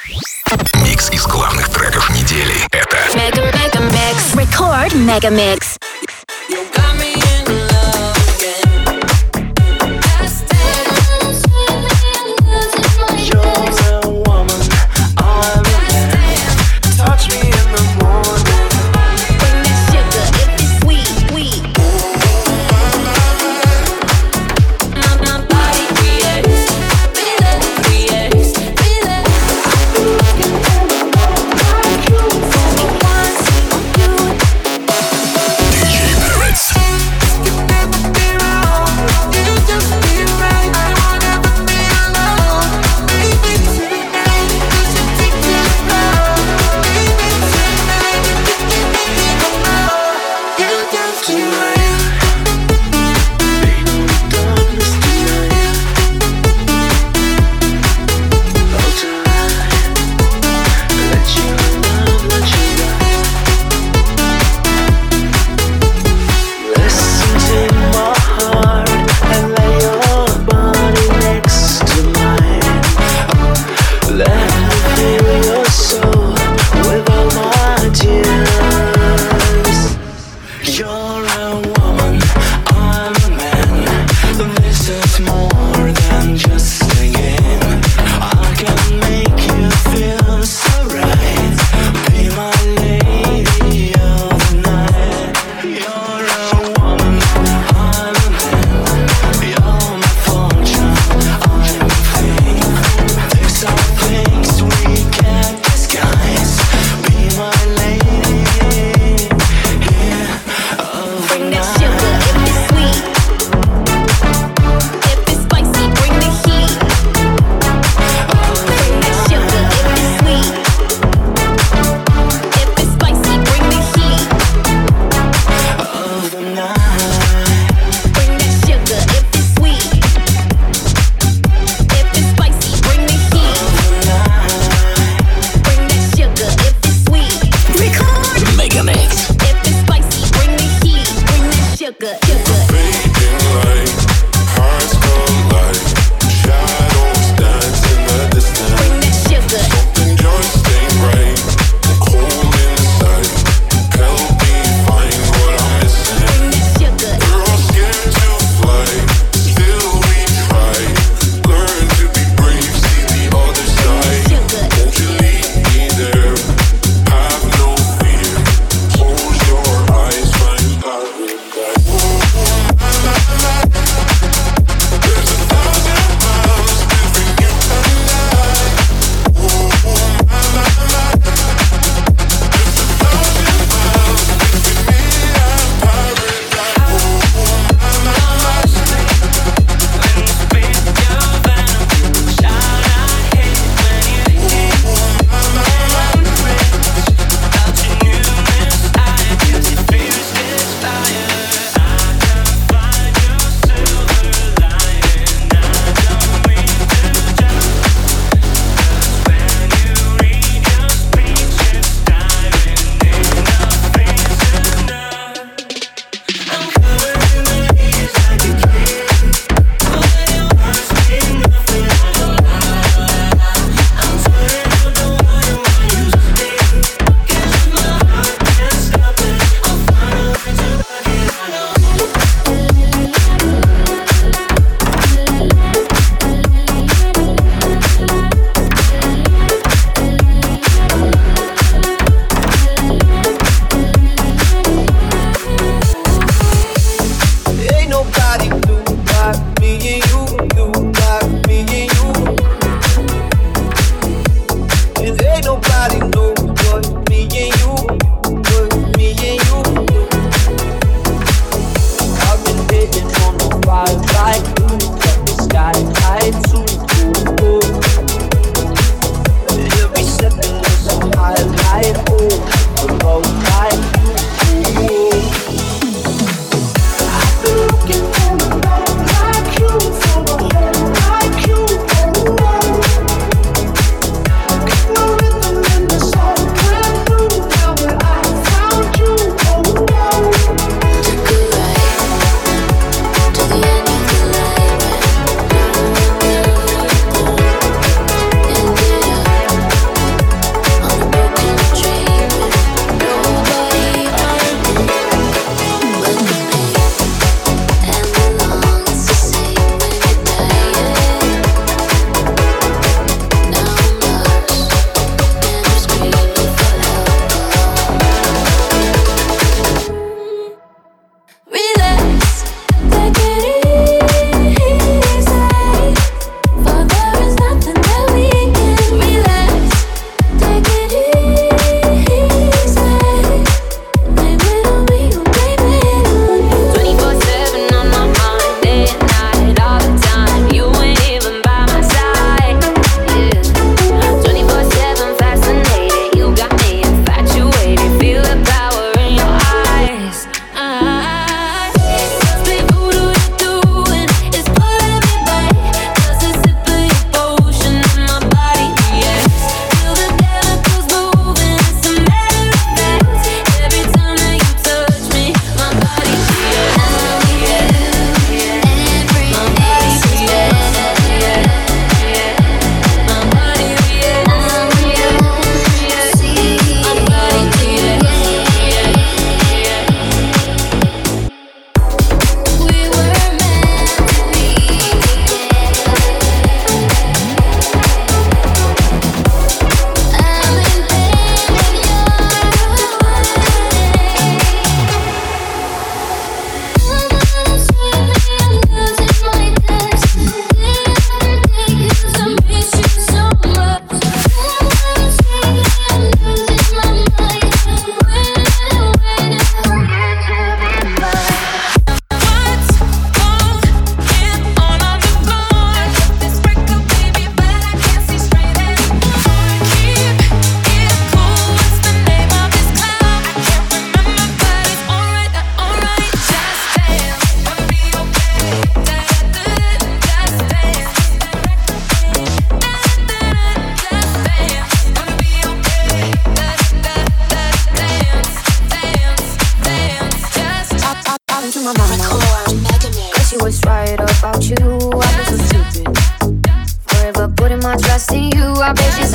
Микс из главных треков недели. Это Mega Mix. Record Mega Mix.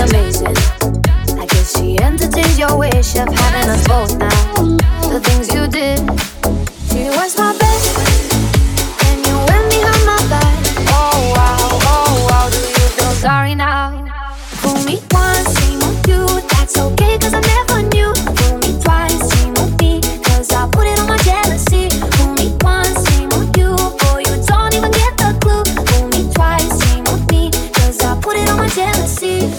amazing. I guess she entertains your wish of having us both now. The things you did. She was my best friend, and you went behind my back. Oh wow, do you feel sorry now? Fool me once, shame on you. That's okay, cause I never knew. Fool me twice, shame on me, cause I put it on my jealousy. Fool me once, shame on you. Boy, you don't even get the clue. Fool me twice, shame on me, cause I put it on my jealousy.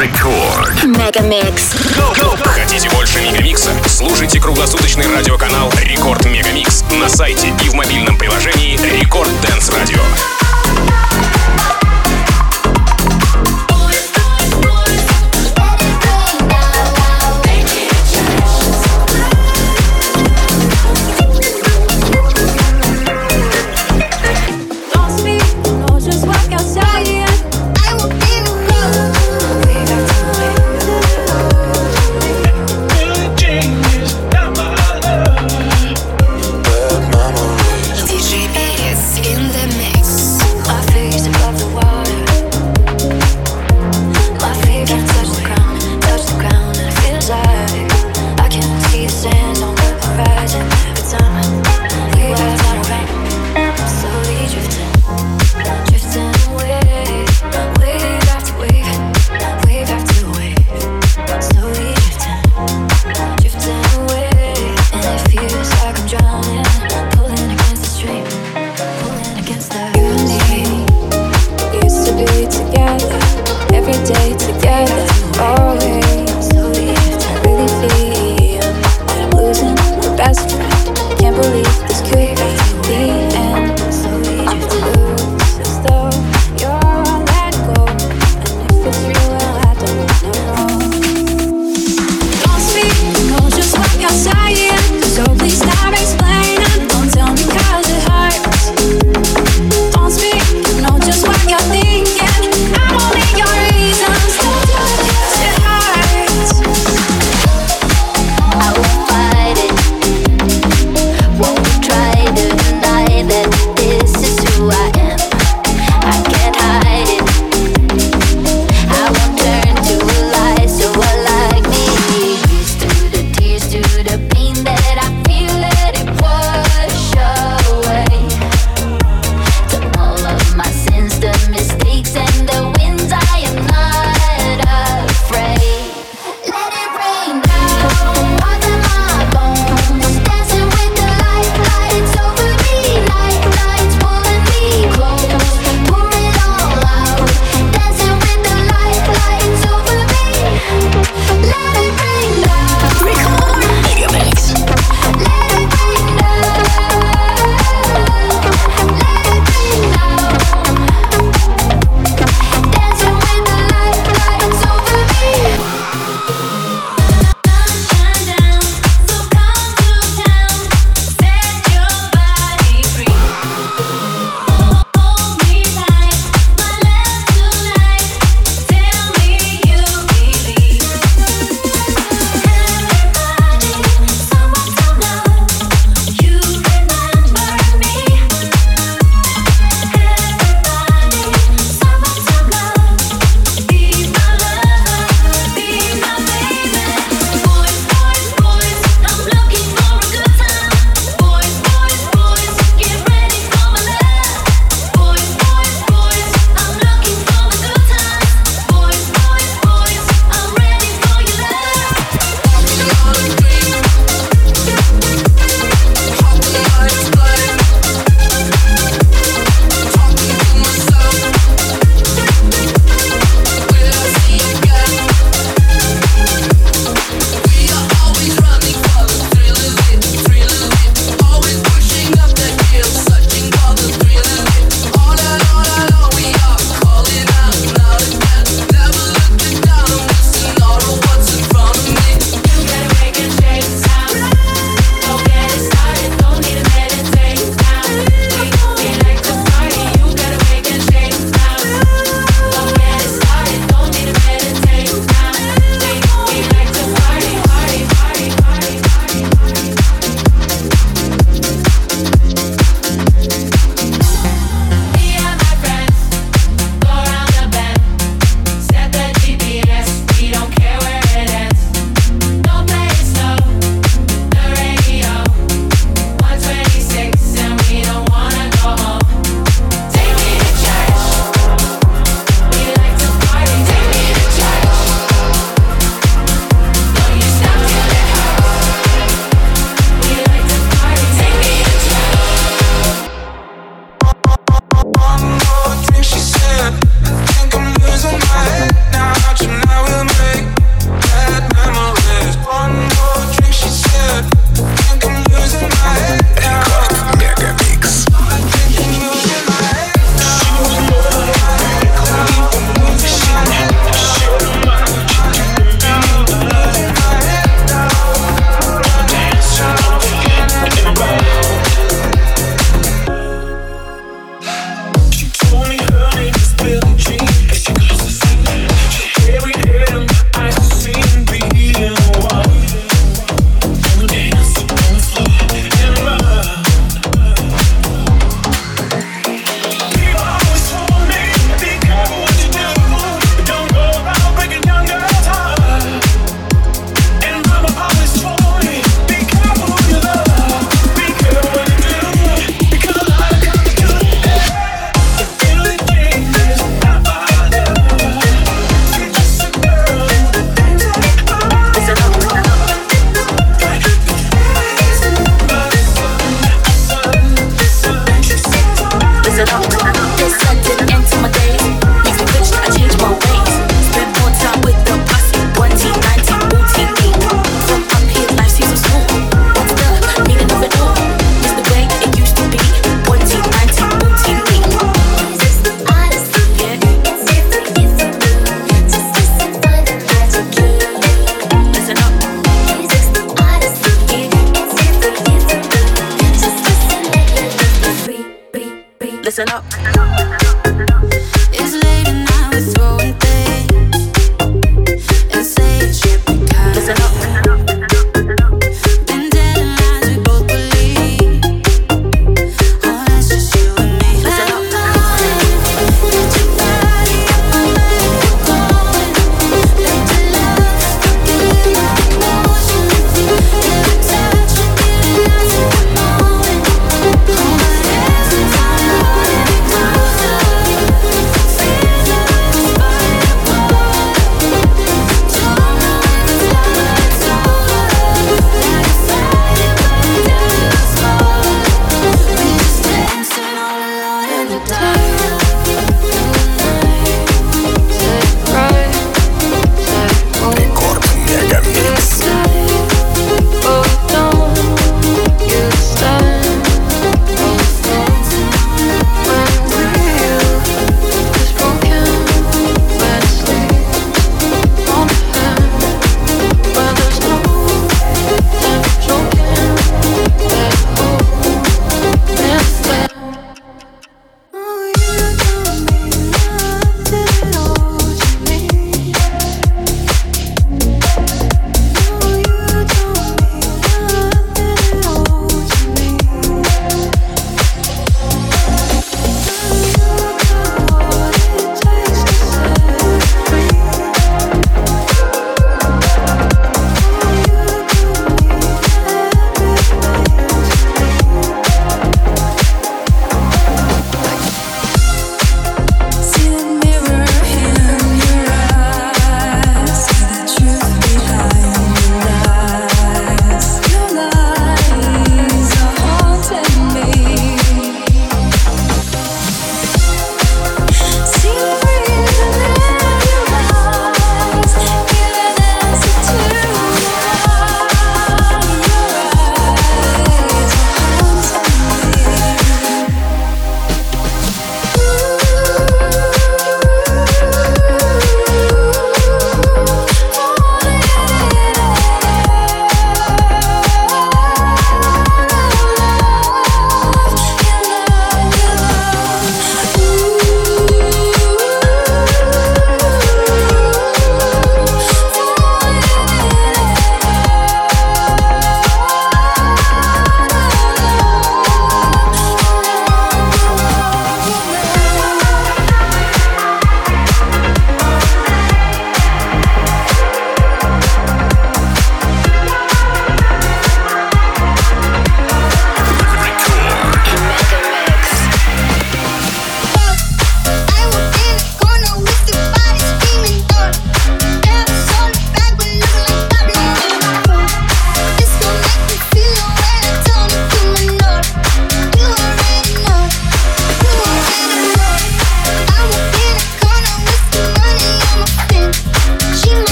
Record Megamix. Хотите больше Мегамикса? Слушайте круглосуточный радиоканал Рекорд Мегамикс на сайте и в мобильном приложении Рекорд Дэнс Радио. I feel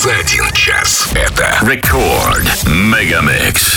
за 1 час. Это Record Megamix.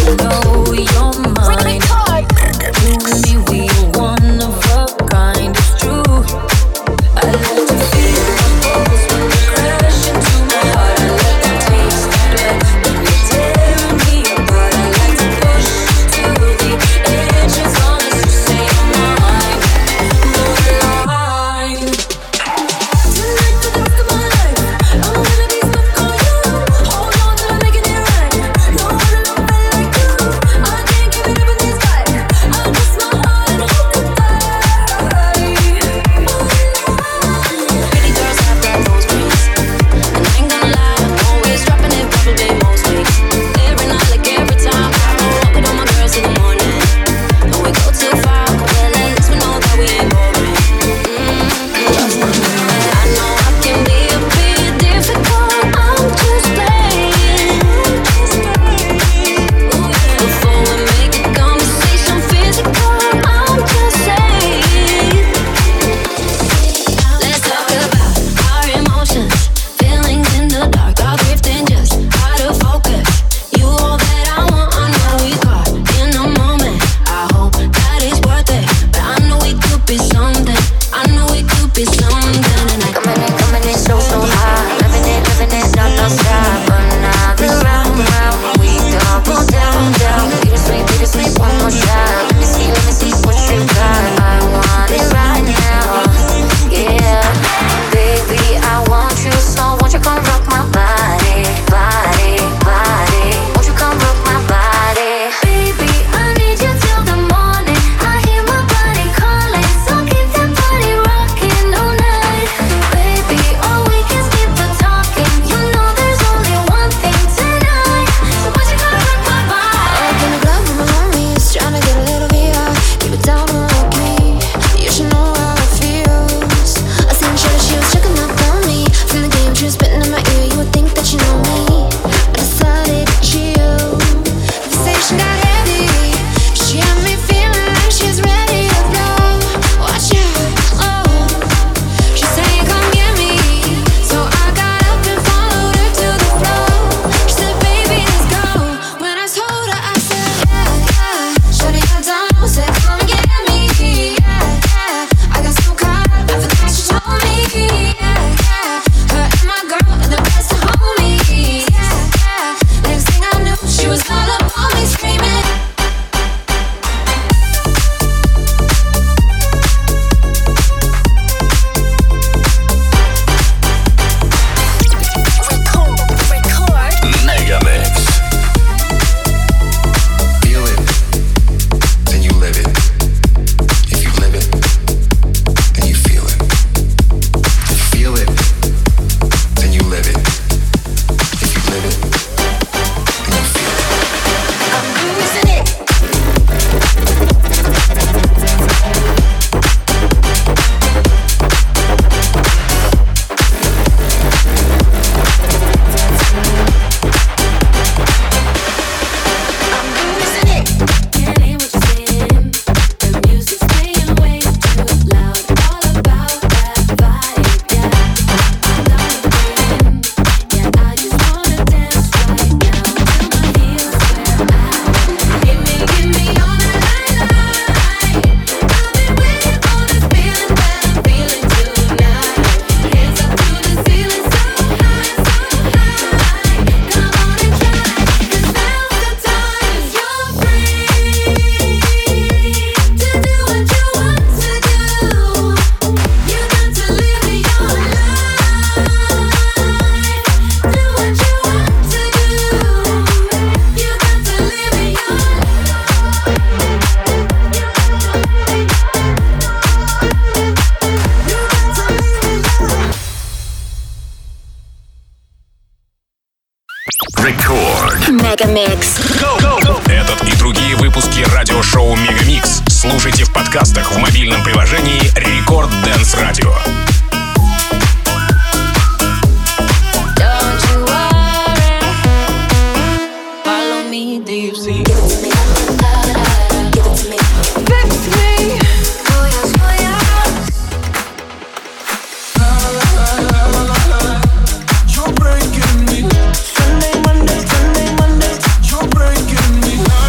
Мегамикс. Этот и другие выпуски радиошоу Мегамикс слушайте в подкастах в мобильном приложении Рекорд Dance Radio. Sunday, Monday, Monday, you're breaking me.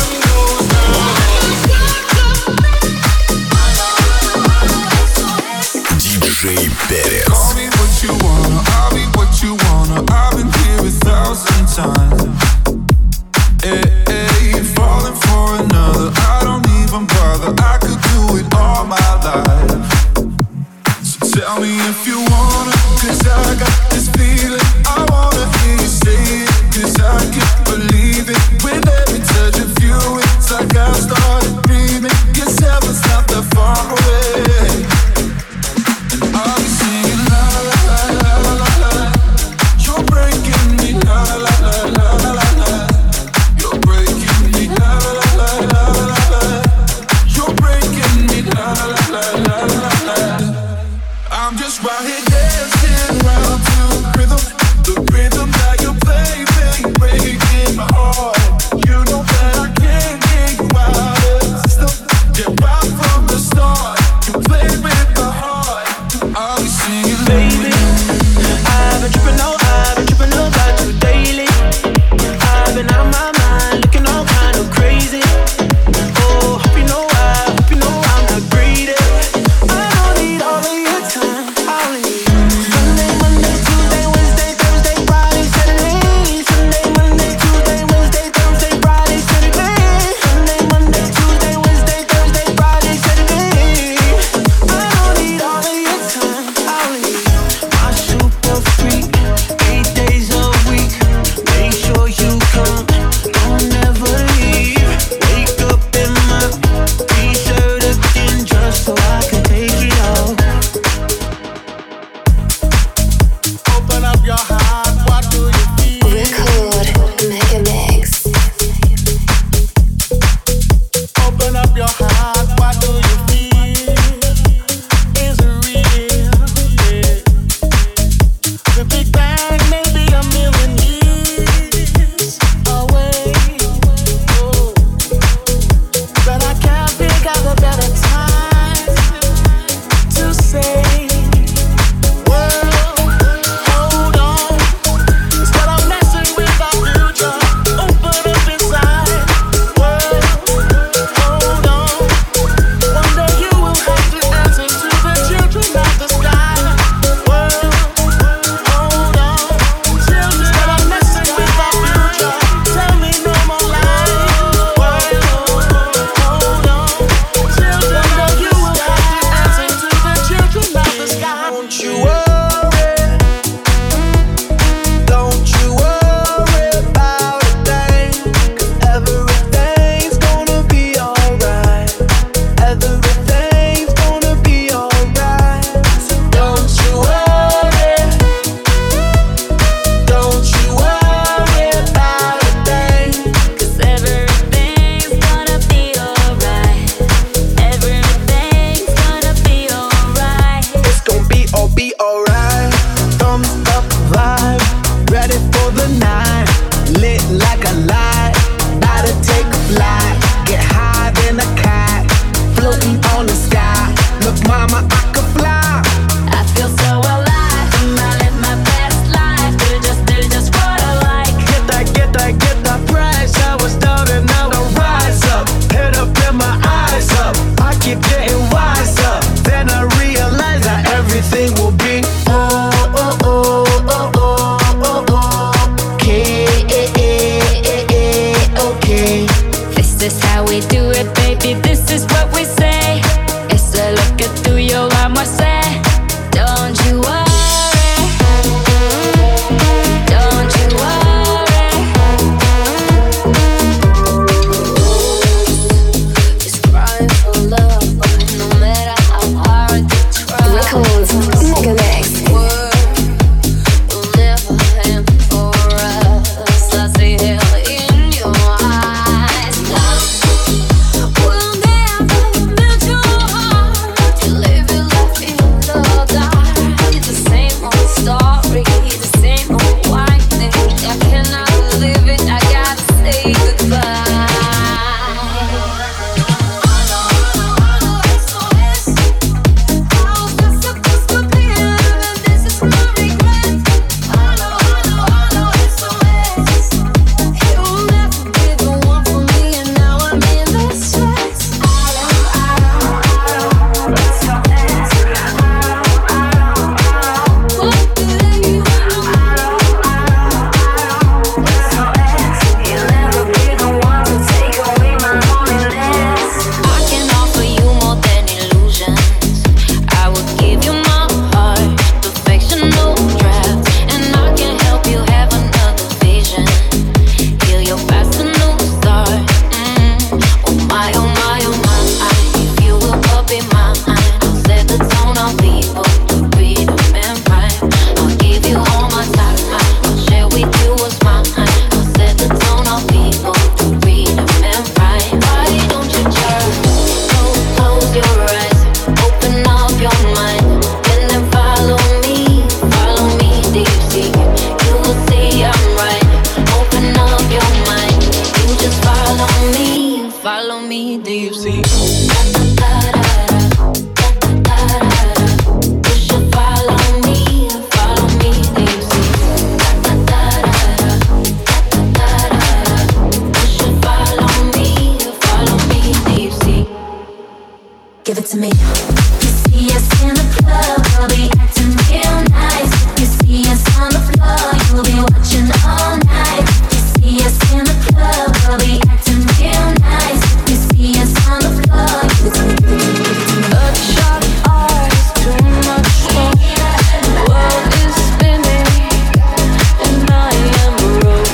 to me. You see us in the club, we'll be acting real nice. You see us on the floor, you'll be watching all night. You see us in the club, we'll be acting real nice. You see us on the floor, bloodshot eyes, too much smoke. The world is spinning, and I am broke.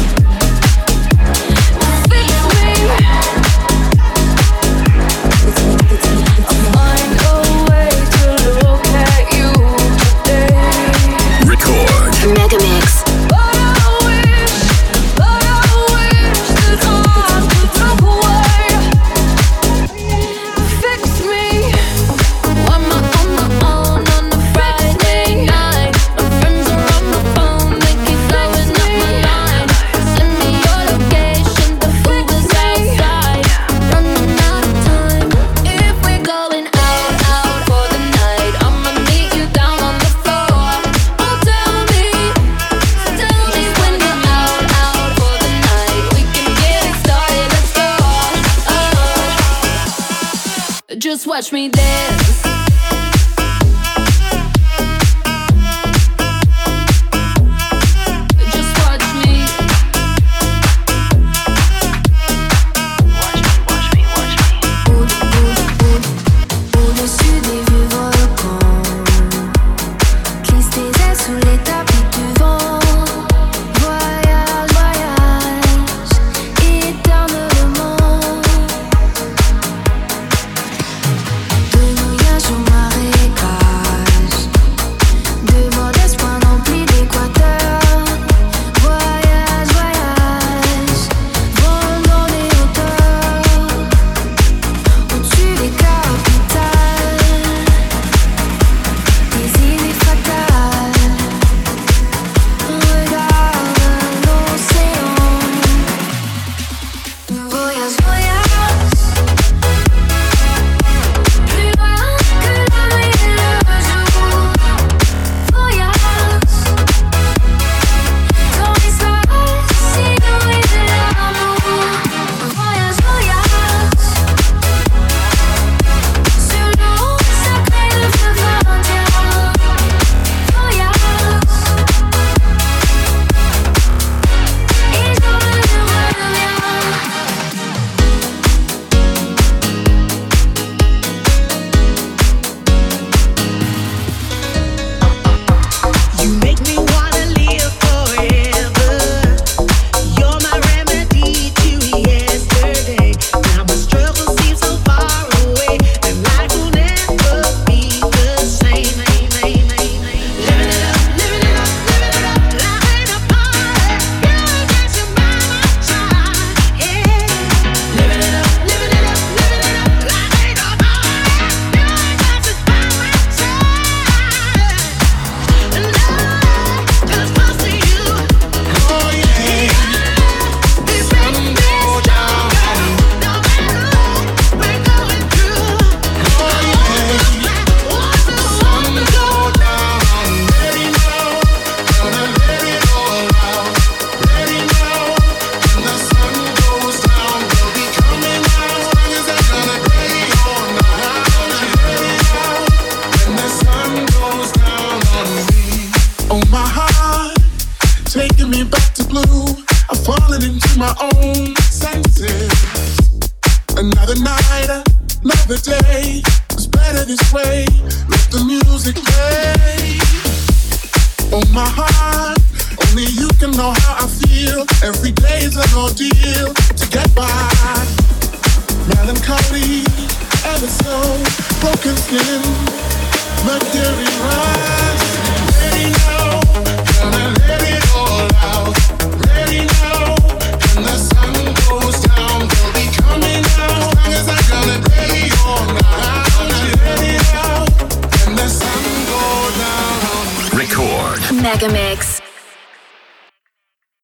Fix me. I'll find a way to look at you today. Record. Mega Mix. But I wish that I could look away. Fix me. I'm on my own on a Friday night. My friends are on my phone, they keep blowing up my line. Send me your location, the Uber's outside. Running out of time. If we're going out for the night, I'ma meet you down on the floor. Oh, tell me when you're out for the night. We can get it started, let's go. Just watch me dance. Just watch me. Au-dessus des vieux volcans, glisse tes ailes sous les tapis du vent. Voyage, voyage, éternellement. De voyage au marécage, de modestes points remplis d'équateur. Voyage, voyage, vol dans les hauteurs. Au-dessus des capitales, des idées fatales. Regarde l'océan. Voyage, voyage, plus loin que la nuit et le jour. Voyage dans l'espace inouï de l'amour. Voyage, voyage sur l'eau sacrée de fleuve indien. Voyage et je reviens. You make me wanna live forever. You're my remedy to yesterday. Now my struggle seems so far away, and life will never be the same. Living it up, living it up, living it up. Life ain't a party. You're dancing by my side, yeah. Living it up, living it up, living it up. Life ain't a party. You're dancing by my side. And I just want to see you. Oh yeah, the sun go down, no matter what we're going through. Oh yeah, the sun go down. Ready now, gonna let it all out. Ready now, when the sun goes down, we'll be coming out. As long as I'm gonna be all night. Ready now, when the sun goes down on me. Oh my heart, taking me back to blue. I've fallen into my own senses. Another night, another day. It's better this way. Let the music play. Oh my heart, only you can know how I feel. Every day's an ordeal to get by. Melancholy, ever so broken skin. Mercury rise. Ready now, gonna let it all out. Ready now, when the sun goes down, we'll be coming out. As long as I'm gonna be all night. Ready now, when the sun goes down. Record. Mega Mix.